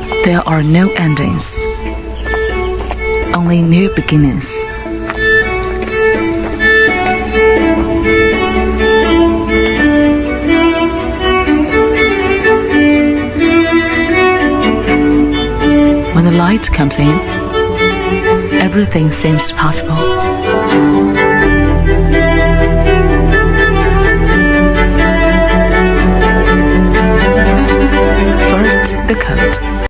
There are no endings, only new beginnings. When the light comes in, everything seems possible.